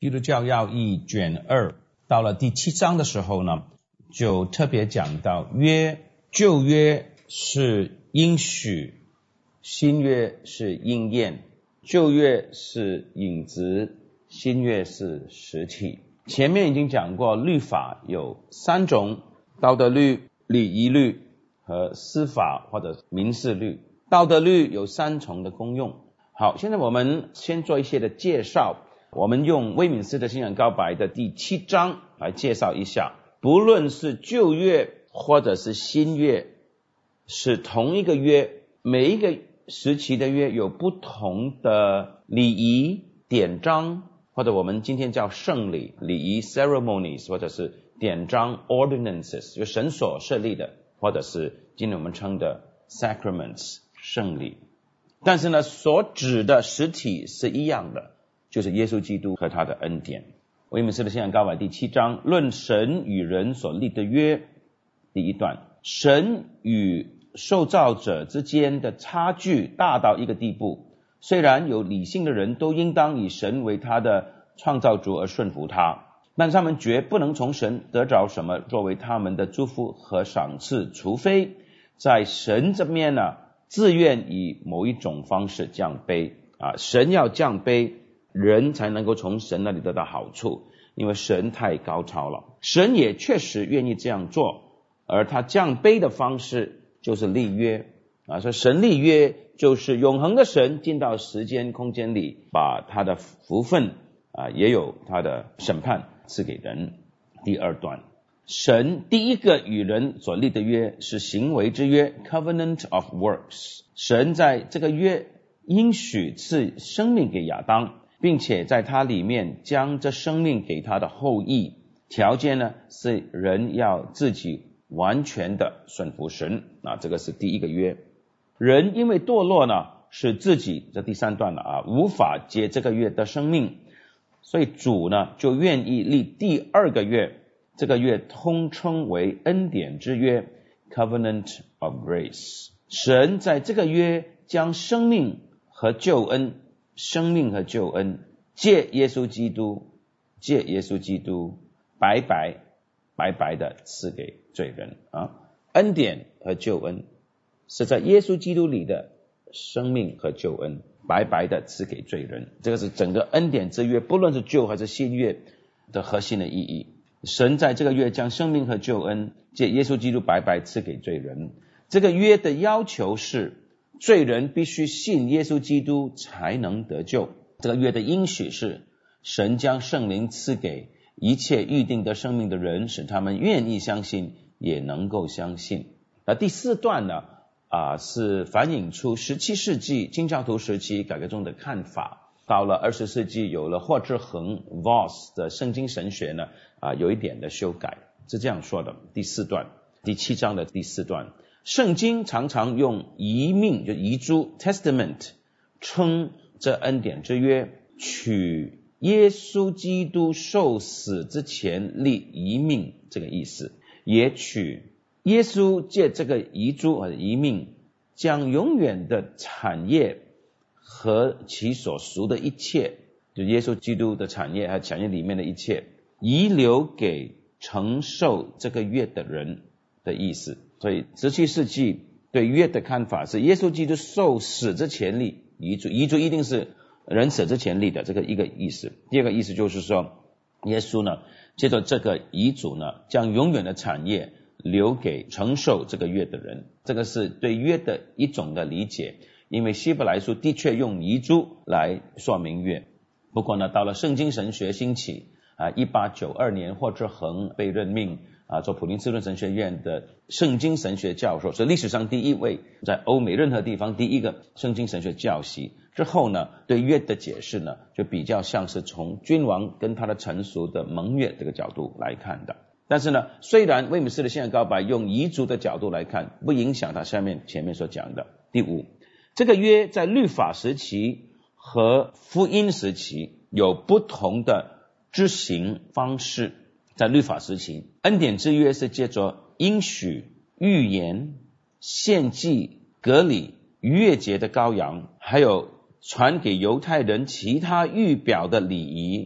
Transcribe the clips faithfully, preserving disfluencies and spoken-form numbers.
基督教要义卷二到了第七章的时候呢，就特别讲到约，旧约是应许，新约是应验，旧约是影子，新约是实体。前面已经讲过，律法有三种，道德律、礼仪律和司法或者民事律。道德律有三重的功用。好，现在我们先做一些的介绍。我们用威敏斯特信仰告白的第七章来介绍一下，不论是旧约或者是新约，是同一个约，每一个时期的约有不同的礼仪典章，或者我们今天叫圣礼礼仪 ceremonies， 或者是典章 ordinances， 就神所设立的，或者是今天我们称的 sacraments 圣礼。但是呢，所指的实体是一样的，就是耶稣基督和他的恩典。威敏斯特信仰告白第七章论神与人所立的约，第一段，神与受造者之间的差距大到一个地步，虽然有理性的人都应当以神为他的创造主而顺服他，但他们绝不能从神得着什么作为他们的祝福和赏赐，除非在神这边呢自愿以某一种方式降卑啊，神要降卑，人才能够从神那里得到好处，因为神太高超了。神也确实愿意这样做，而他降卑的方式就是立约啊，所以神立约就是永恒的神进到时间空间里，把他的福分啊，也有他的审判赐给人。第二段，神第一个与人所立的约是行为之约 Covenant of Works， 神在这个约应许赐生命给亚当，并且在他里面将这生命给他的后裔，条件呢是人要自己完全的顺服神啊，这个是第一个约。人因为堕落呢，使自己这第三段了啊，无法接这个约的生命，所以主呢就愿意立第二个约，这个约通称为恩典之约 Covenant of Grace。 神在这个约将生命和救恩生命和救恩借耶稣基督借耶稣基督白白白白的赐给罪人啊，恩典和救恩是在耶稣基督里的生命和救恩白白的赐给罪人，这个是整个恩典之约，不论是旧还是新约的核心的意义。神在这个约将生命和救恩借耶稣基督白白赐给罪人，这个约的要求是罪人必须信耶稣基督才能得救。这个约的应许是神将圣灵赐给一切预定的生命的人，使他们愿意相信也能够相信。那第四段呢啊，是反映出十七世纪清教徒时期改革中的看法，到了二十世纪有了霍志恒 Voss 的圣经神学呢啊，有一点的修改，是这样说的。第四段第七章的第四段，圣经常常用遗命就遗嘱 Testament 称这恩典之约，取耶稣基督受死之前立遗命这个意思，也取耶稣借这个遗嘱和遗命将永远的产业和其所属的一切，就耶稣基督的产业和产业里面的一切遗留给承受这个约的人的意思。所以十七世纪对约的看法是耶稣基督受死之前立遗嘱，遗嘱一定是人死之前立的，这个一个意思。第二个意思就是说，耶稣呢借着这个遗嘱呢，将永远的产业留给承受这个约的人，这个是对约的一种的理解。因为希伯来书的确用遗嘱来说明约，不过呢，到了圣经神学兴起啊，一八九二年霍志恒被任命啊做普林斯顿神学院的圣经神学教授，是历史上第一位在欧美任何地方第一个圣经神学教习。之后呢，对约的解释呢，就比较像是从君王跟他的成熟的盟约这个角度来看的。但是呢，虽然威敏斯特信仰告白用遗嘱的角度来看，不影响他下面前面所讲的。第五，这个约在律法时期和福音时期有不同的执行方式。在律法时期，恩典之约是借着应许、预言、献祭、割礼、逾越节的羔羊，还有传给犹太人其他预表的礼仪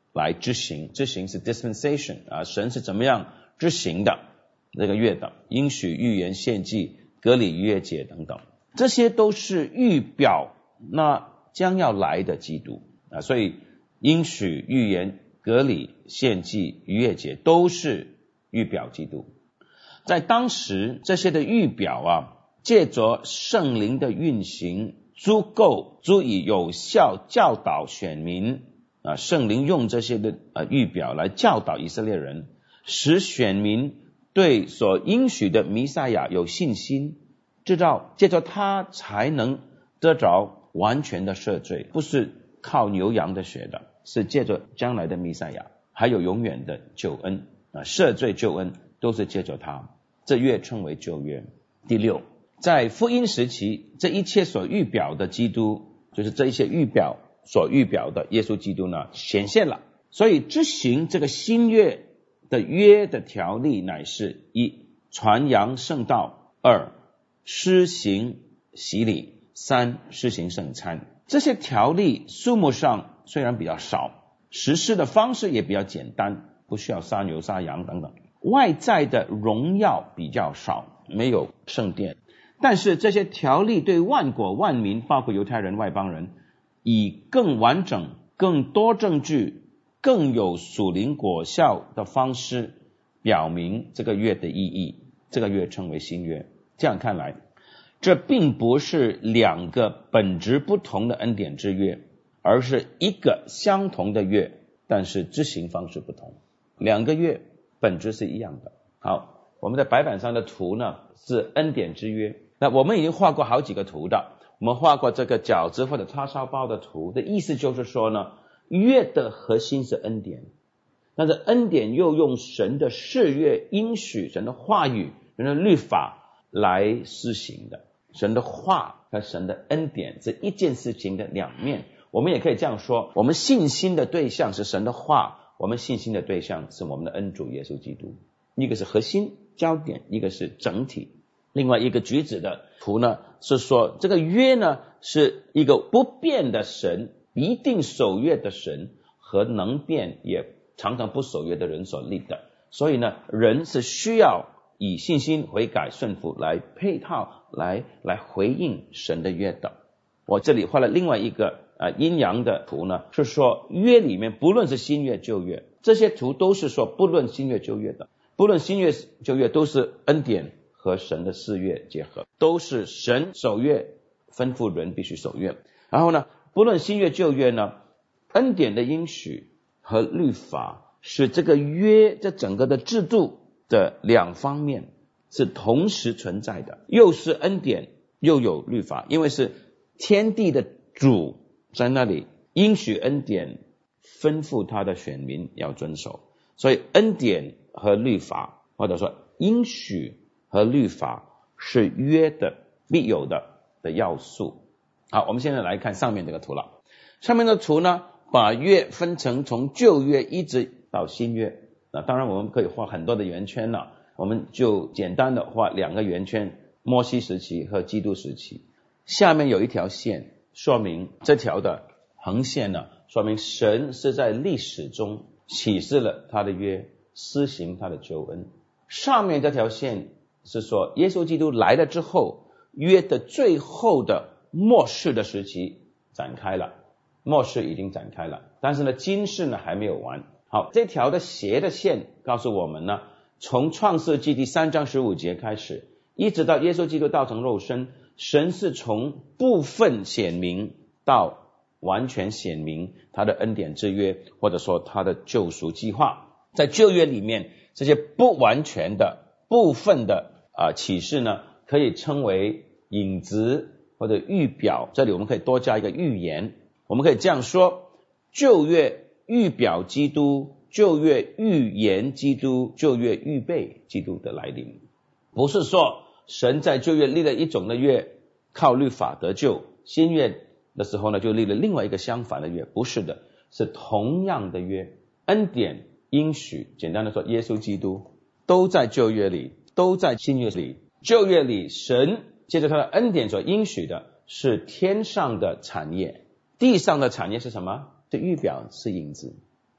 来执行，执行是 dispensation 啊，神是怎么样执行的这个约的，应许、预言、献祭、割礼、逾越节等等，这些都是预表那将要来的基督啊，所以应许、预言、割礼、献祭、逾越节都是预表基督。在当时这些的预表啊，借着圣灵的运行，足够足以有效教导选民啊，圣灵用这些的呃预表来教导以色列人，使选民对所应许的弥赛亚有信心，知道借着他才能得着完全的赦罪，不是靠牛羊的血的，是借着将来的弥赛亚，还有永远的救恩啊，赦罪救恩都是借着他，这约称为旧约。第六，在福音时期，这一切所预表的基督，就是这一些预表所预表的耶稣基督呢，显现了。所以执行这个新约的约的条例乃是：一、传扬圣道；二、施行洗礼；三、施行圣餐。这些条例数目上虽然比较少，实施的方式也比较简单，不需要杀牛杀羊等等，外在的荣耀比较少，没有圣殿，但是这些条例对万国万民，包括犹太人、外邦人，以更完整、更多证据、更有属灵果效的方式表明这个约的意义，这个约称为新约。这样看来，这并不是两个本质不同的恩典之约，而是一个相同的约，但是执行方式不同。两个约本质是一样的。好，我们在白板上的图呢是恩典之约，那我们已经画过好几个图的，我们画过这个饺子或者叉烧包的图，的意思就是说呢，约的核心是恩典，但是恩典又用神的誓约、应许、神的话语、神的律法来施行的。神的话和神的恩典是一件事情的两面。我们也可以这样说，我们信心的对象是神的话，我们信心的对象是我们的恩主耶稣基督。一个是核心焦点，一个是整体。另外一个举子的图呢，是说这个约呢是一个不变的神，一定守约的神和能变也常常不守约的人所立的。所以呢，人是需要以信心悔改顺服来配套来来回应神的约的。我这里画了另外一个呃阴阳的图呢，是说约里面不论是新约旧约，这些图都是说不论新约旧约的，不论新约旧约都是恩典和神的誓约结合，都是神守约吩咐人必须守约。然后呢，不论新约旧约呢，恩典的应许和律法是这个约这整个的制度的两方面是同时存在的，又是恩典又有律法，因为是天地的主在那里应许恩典，吩咐他的选民要遵守，所以恩典和律法，或者说应许和律法是约的必有的的要素。好，我们现在来看上面这个图了。上面的图呢，把约分成从旧约一直到新约。那当然我们可以画很多的圆圈了，我们就简单的画两个圆圈，摩西时期和基督时期。下面有一条线，说明这条的横线呢，说明神是在历史中启示了他的约，施行他的救恩。上面这条线是说耶稣基督来了之后，约的最后的末世的时期展开了，末世已经展开了，但是呢今世呢还没有完。好，这条的斜的线告诉我们呢，从创世纪第三章十五节开始，一直到耶稣基督道成肉身，神是从部分显明到完全显明他的恩典之约，或者说他的救赎计划。在旧约里面，这些不完全的部分的啊、呃、启示呢，可以称为影子或者预表，这里我们可以多加一个预言。我们可以这样说，旧约预表基督，旧约预言基督，旧约预备基督的来临。不是说神在旧约立了一种的约，靠律法得救，新约的时候呢就立了另外一个相反的约，不是的，是同样的约，恩典应许，简单的说耶稣基督都在旧约里，都在新约里。旧约里神借着他的恩典所应许的是天上的产业，地上的产业是什么？是预表，是影子。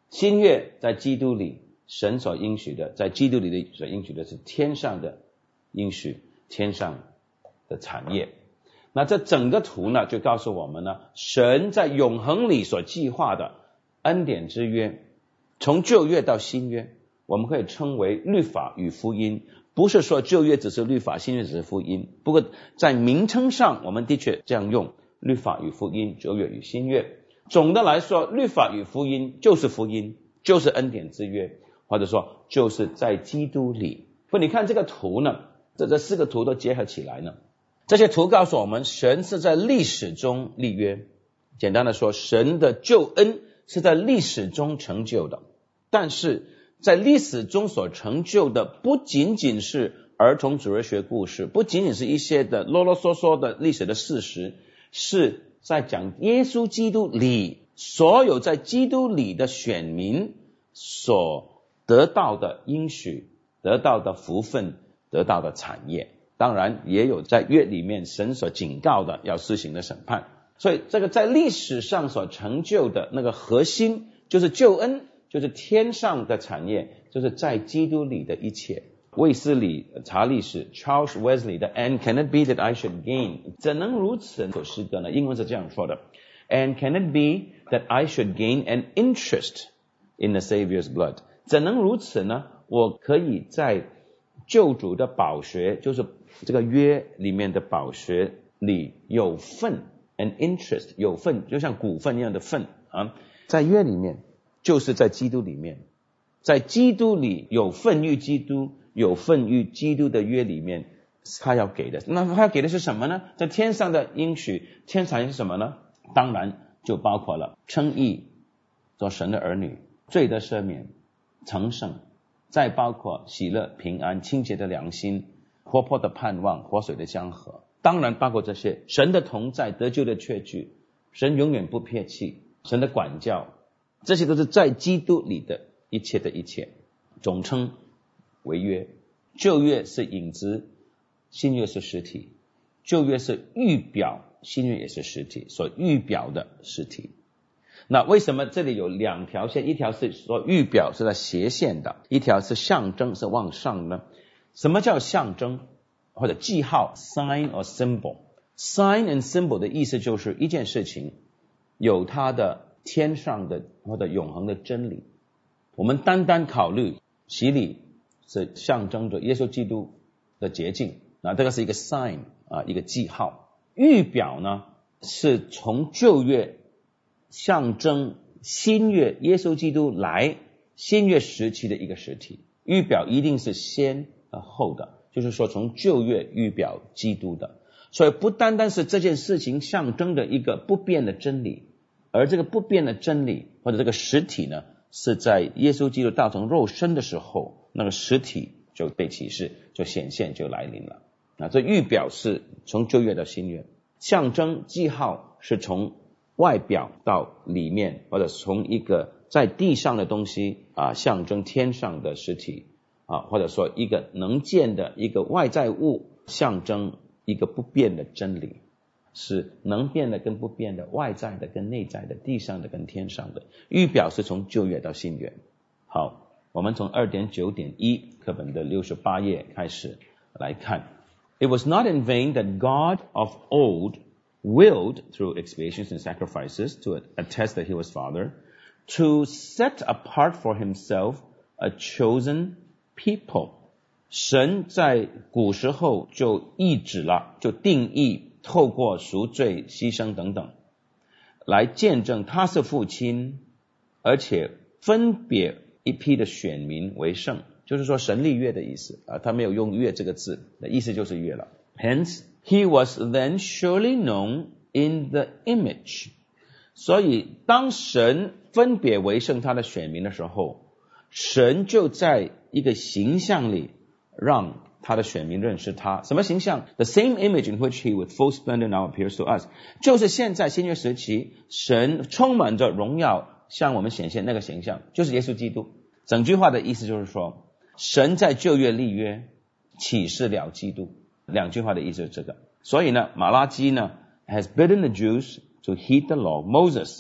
新约在基督里，神所应许的，在基督里的所应许的是天上的应许，天上的产业。那这整个图呢，就告诉我们呢，神在永恒里所计划的恩典之约，从旧约到新约，我们可以称为律法与福音。不是说旧约只是律法，新约只是福音。不过在名称上，我们的确这样用，律法与福音，旧约与新约。总的来说，律法与福音就是福音，就是恩典之约，或者说就是在基督里。不，你看这个图呢，这这四个图都结合起来呢，这些图告诉我们，神是在历史中立约。简单的说，神的救恩是在历史中成就的，但是在历史中所成就的不仅仅是儿童主日学故事，不仅仅是一些的啰啰嗦嗦的历史的事实，是在讲耶稣基督里所有在基督里的选民所得到的应许，得到的福分，得到的产业。当然也有在约里面神所警告的要施行的审判。所以这个在历史上所成就的那个核心，就是救恩，就是天上的产业，就是在基督里的一切。卫斯理查历史 Charles Wesley 的 And can it be that I should gain， 怎能如此？这首诗歌呢，英文是这样说的， And can it be that I should gain an interest in the Savior's blood， 怎能如此呢？我可以在救主的宝血，就是这个约里面的宝血里有份， an interest 有份，就像股份一样的份啊，在约里面就是在基督里面，在基督里有份于基督，有份于基督的约里面，他要给的，那他要给的是什么呢？在天上的应许，天上是什么呢？当然就包括了称义，做神的儿女，罪的赦免，成圣，再包括喜乐、平安、清洁的良心，活泼的盼望，活水的江河。当然包括这些，神的同在，得救的确据，神永远不撇弃，神的管教，这些都是在基督里的一切的一切，总称为约。旧约是影子，新约是实体。旧约是预表，新约也是实体，所预表的实体。那为什么这里有两条线？一条是说预表是在斜线的，一条是象征是往上的。什么叫象征或者记号 sign or symbol？ sign and symbol 的意思就是一件事情有它的天上的或者永恒的真理。我们单单考虑洗礼是象征着耶稣基督的洁净，那这个是一个 sign 啊，一个记号。预表呢是从旧约象征新约耶稣基督来新约时期的一个实体。预表一定是先和后的，就是说从旧约预表基督的。所以不单单是这件事情象征的一个不变的真理，而这个不变的真理或者这个实体呢，是在耶稣基督道成肉身的时候，那个实体就被启示，就显现，就来临了。那这预表是从旧约到新约，象征记号是从外表到里面，或者从一个在地上的东西啊，象征天上的实体啊，或者说一个能见的一个外在物，象征一个不变的真理，是能变的跟不变的，外在的跟内在的，地上的跟天上的。预表是从旧约到新约。好，我们从 二点九点一 课本的六十八页开始来看。It was not in vain that God of old willed through expiations and sacrifices to attest that he was Father, to set apart for himself a chosen people. 神在古时候就意指了，就定义，透过赎罪、牺牲等等，来见证他是父亲，而且分别一批的选民为圣，就是说神立约的意思啊，他没有用约这个字，的意思就是约了。Hence, he was then surely known in the image. 所以当神分别为圣他的选民的时候，神就在一个形象里让他的选民认识他。什么形象？ The same image in which he with full splendor now appears to us. 就是现在新约时期神充满着荣耀向我们显现那个形象，就是耶稣基督。整句话的意思就是说，神在旧约立约，启示了基督。两句话的意思是这个。所以呢，马拉基呢 has bidden the Jews to heed the law. Moses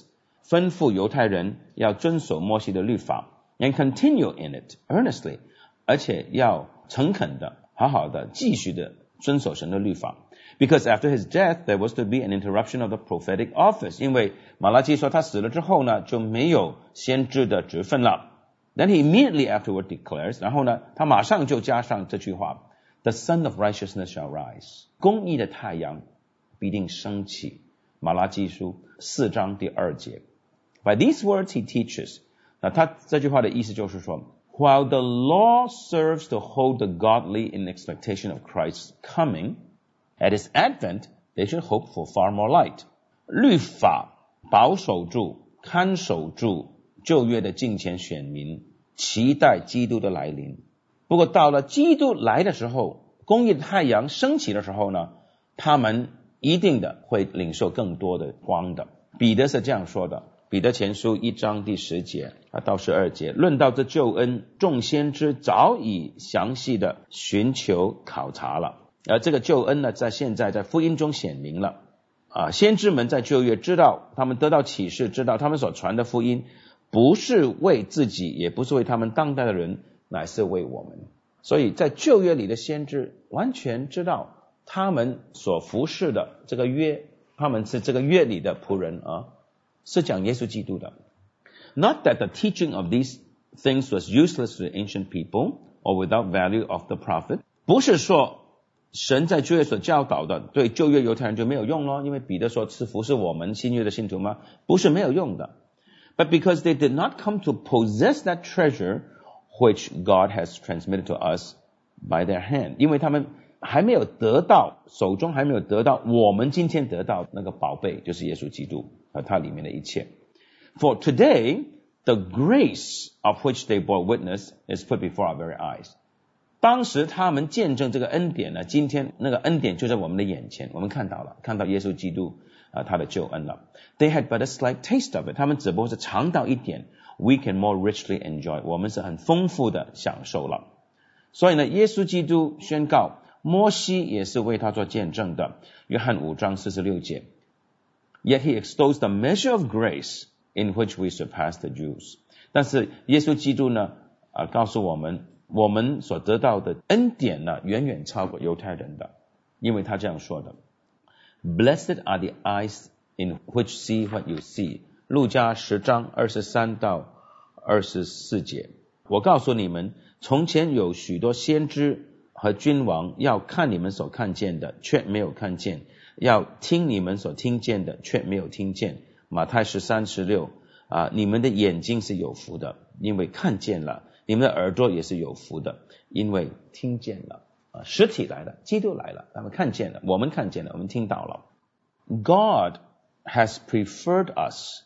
吩咐犹太人要遵守摩西的律法 and continue in it earnestly， 而且要诚恳的好好的继续的遵守神的律法。Because after his death, there was to be an interruption of the prophetic office. 因为马拉基说他死了之后呢，就没有先知的职分了。Then he immediately afterward declares, 然后呢，他马上就加上这句话 ：The sun of righteousness shall rise. 公义的太阳必定升起。马拉基书四章第二节。By these words he teaches. 那他这句话的意思就是说 ，While the law serves to hold the godly in expectation of Christ's coming,At his advent, they should hope for far more light. 律法保守住、看守住旧约的敬虔选民，期待基督的来临。不过到了基督来的时候，公义的太阳升起的时候呢，他们一定的会领受更多的光的。彼得是这样说的，彼得前书一章第十节啊到十二节，论到这救恩，众先知早已详细的寻求考察了。而这个救恩呢，在现在在福音中显明了啊，先知们在旧约知道，他们得到启示，知道他们所传的福音不是为自己，也不是为他们当代的人，乃是为我们。所以在旧约里的先知完全知道他们所服侍的这个约，他们是这个约里的仆人啊，是讲耶稣基督的。Not that the teaching of these things was useless to the ancient people or without value of the prophet， 不是说神在旧约所教导的对旧约犹太人就没有用咯，因为彼得说是服侍我们新约的信徒吗？不是没有用的。But because they did not come to possess that treasure which God has transmitted to us by their hand， 因为他们还没有得到，手中还没有得到我们今天得到那个宝贝，就是耶稣基督和他里面的一切。For today, the grace of which they bore witness is put before our very eyes。当时他们见证这个恩典呢，今天那个恩典就在我们的眼前，我们看到了，看到耶稣基督啊、呃、他的救恩了。They had but a slight taste of it， 他们只不过是尝到一点 ，we can more richly enjoy， 我们是很丰富的享受了。所以呢，耶稣基督宣告，摩西也是为他做见证的。约翰五章四十六节 ，Yet he extols the measure of grace in which we surpass the Jews。但是耶稣基督呢，啊、呃、告诉我们。我们所得到的恩典呢，远远超过犹太人的，因为他这样说的 ：Blessed are the eyes in which see what you see。路加十章二十三到二十四节，我告诉你们，从前有许多先知和君王要看你们所看见的，却没有看见；要听你们所听见的，却没有听见。马太十三十六啊，你们的眼睛是有福的，因为看见了。你们的耳朵也是有福的，因为听见了啊，实体来了，基督来了，他们看见了，我们看见了，我们听到了。God has preferred us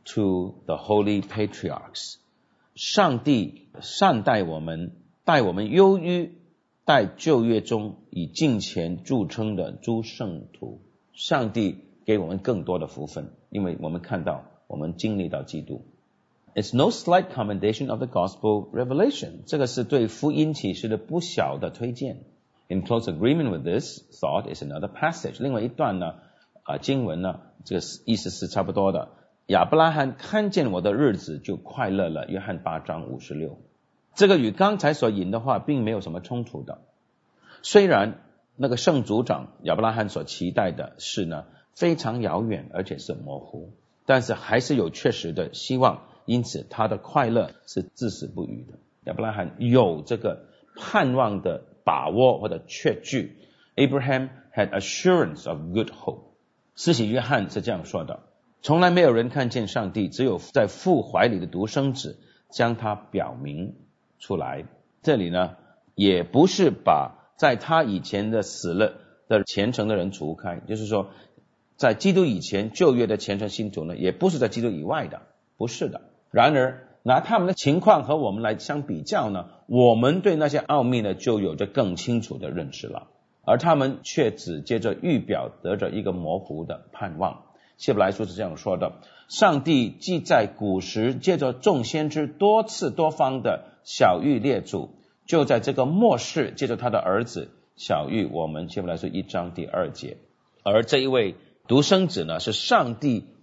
to the holy patriarchs。上帝善待我们，待我们优于待旧约中以敬虔著称的诸圣徒。上帝给我们更多的福分，因为我们看到，我们经历到基督。It's no slight commendation of the gospel revelation。 这个是对福音启示的不小的推荐。In close agreement with this thought is another passage。 另外一段呢，啊、呃、经文呢，这个意思是差不多的。亚伯拉罕看见我的日子就快乐了。约翰八章五十六。这个与刚才所引的话并没有什么冲突的。虽然那个圣族长亚伯拉罕所期待的事呢非常遥远，而且是模糊，但是还是有确实的希望。因此他的快乐是至死不渝的。亚伯拉罕有这个盼望的把握或者确据。 Abraham had assurance of good hope。 施洗约翰是这样说的，从来没有人看见上帝，只有在父怀里的独生子将他表明出来。这里呢也不是把在他以前的死了的虔诚的人除开，就是说在基督以前旧约的虔诚信徒呢，也不是在基督以外的，不是的。然而拿他们的情况和我们来相比较呢，我们对那些奥秘呢就有着更清楚的认识了，而他们却只接着预表得着一个模糊的盼望。希伯来书是这样说的，上帝既在古时借着众先知多次多方的晓谕列祖，就在这个末世借着他的儿子晓谕我们。希伯来书一章第二节。而这一位独生子呢，是上帝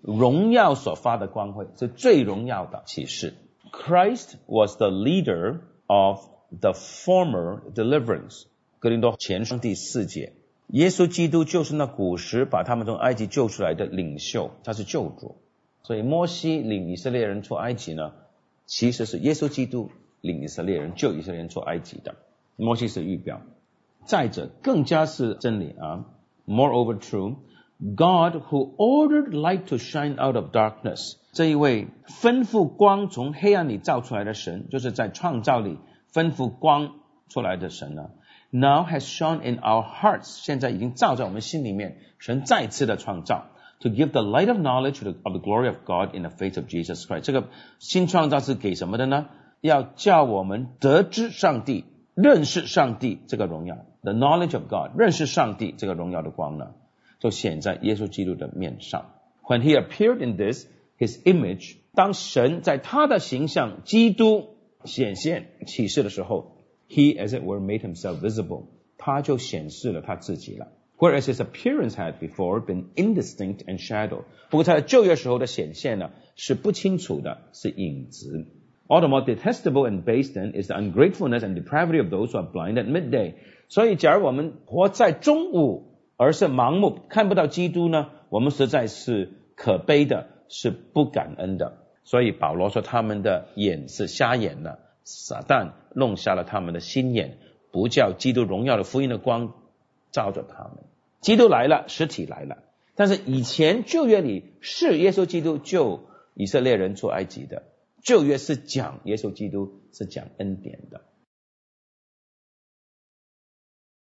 荣耀所发的光辉，是最荣耀的启示。Christ was the leader of the former deliverance。哥林多前书第四节，耶稣基督就是那古时把他们从埃及救出来的领袖，他是救主。所以摩西领以色列人出埃及呢，其实是耶稣基督领以色列人救以色列人出埃及的。摩西是预表。再者更加是真理啊 Moreover true, God who ordered light to shine out of darkness， 这一位吩咐光从黑暗里照出来的神，就是在创造里吩咐光出来的神呢， Now has shone in our hearts， 现在已经照在我们心里面，神再次的创造， To give the light of knowledge of the glory of God in the face of Jesus Christ。 这个新创造是给什么的呢？要叫我们得知上帝，认识上帝这个荣耀， The knowledge of God， 认识上帝这个荣耀的光呢，就显在耶稣基督的面上。 When he appeared in this, his image， 当神在他的形象基督显现启示的时候， he as it were made himself visible， 他就显示了他自己了。 Whereas his appearance had before been indistinct and shadow， 不过他在旧约时候的显现呢，是不清楚的，是影子。 All the more detestable and base then is the ungratefulness and depravity of those who are blind at midday。 所以假如我们活在中午而是盲目看不到基督呢，我们实在是可悲的，是不感恩的。所以保罗说他们的眼是瞎眼了，撒旦弄瞎了他们的心眼，不叫基督荣耀的福音的光照着他们。基督来了，实体来了，但是以前旧约里是耶稣基督救以色列人出埃及的，旧约是讲耶稣基督，是讲恩典的。